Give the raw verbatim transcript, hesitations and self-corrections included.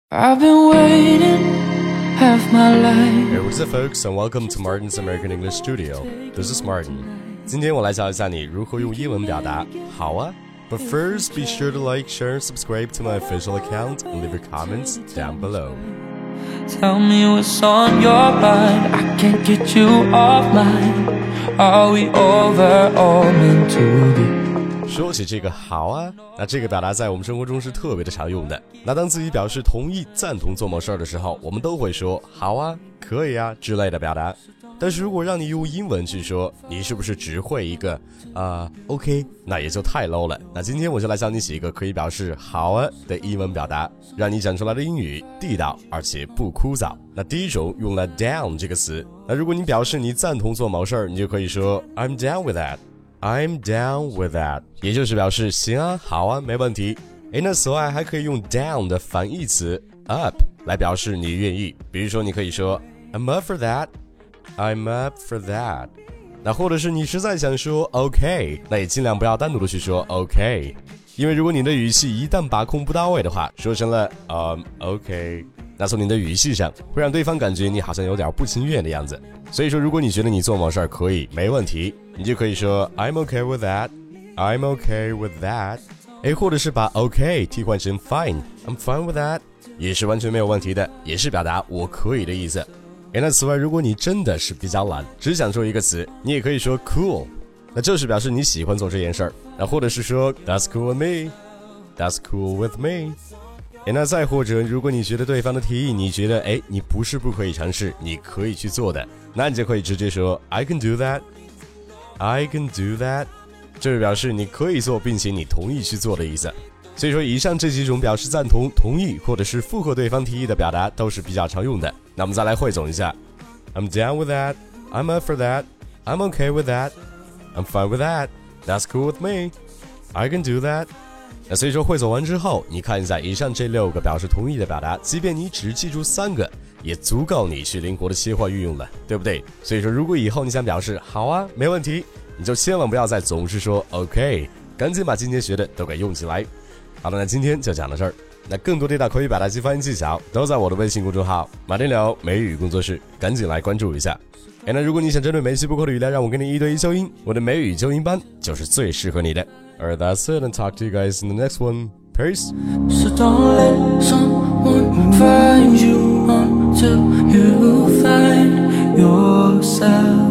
I've been waiting half my life. Hey, what's up, folks, and welcome to Martin's American English Studio. This is Martin. 今天我来教一下你如何用英文表达好啊。But first, be sure to like, share, and subscribe to my official account and leave your comments down below. Tell me what's on your mind. I can't get you off mine. Are we over or meant to be? 说起这个好啊，那这个表达在我们生活中是特别的常用的。那当自己表示同意、赞同做某事儿的时候，我们都会说好啊、可以啊之类的表达。但是如果让你用英文去说，你是不是只会一个啊、呃、OK， 那也就太 low 了。那今天我就来教你几个可以表示好啊的英文表达，让你讲出来的英语地道而且不枯燥。那第一种用了 down 这个词，那如果你表示你赞同做某事儿，你就可以说 I'm down with that。I'm down with that， 也就是表示行啊，好啊，没问题。诶，那此外还可以用 down 的反义词 up 来表示你愿意。比如说你可以说 I'm up for that， I'm up for that。那或者是你实在想说 OK， 那也尽量不要单独的去说 OK， 因为如果你的语气一旦把控不到位的话，说成了 um OK， 那从你的语气上会让对方感觉你好像有点不情愿的样子。所以说如果你觉得你做某事儿可以没问题，你就可以说 I'm okay with that， I'm okay with that。 诶，或者是把 OK 替换成 fine， I'm fine with that， 也是完全没有问题的，也是表达我可以的意思。诶，那此外如果你真的是比较懒，只想说一个词，你也可以说 cool， 那就是表示你喜欢做这件事儿。那或者是说 That's cool with me， That's cool with me。诶，那再或者如果你觉得对方的提议你觉得诶你不是不可以尝试，你可以去做的，那你就可以直接说 I can do that，I can do that， 这是表示你可以做并且你同意去做的意思。所以说以上这几种表示赞同、同意或者是附和对方提议的表达都是比较常用的。那我们再来汇总一下 I'm down with that， I'm up for that， I'm okay with that， I'm fine with that， That's cool with me， I can do that。 那所以说汇总完之后，你看一下以上这六个表示同意的表达，即便你只记住三个也足够你去灵活的切换运用了，对不对？所以说如果以后你想表示好啊没问题，你就千万不要再总是说 OK， 赶紧把今天学的都给用起来。好的，那今天就讲到这儿。那更多地道口语表达及发音技巧都在我的微信公众号马丁聊美语工作室，赶紧来关注一下。哎，那如果你想针对每期播客的语料让我给你一对一纠音，我的美语纠音班就是最适合你的。Alright, that's it, and talk to you guys in the next one. Peace. So don't let someone find you until you find yourself.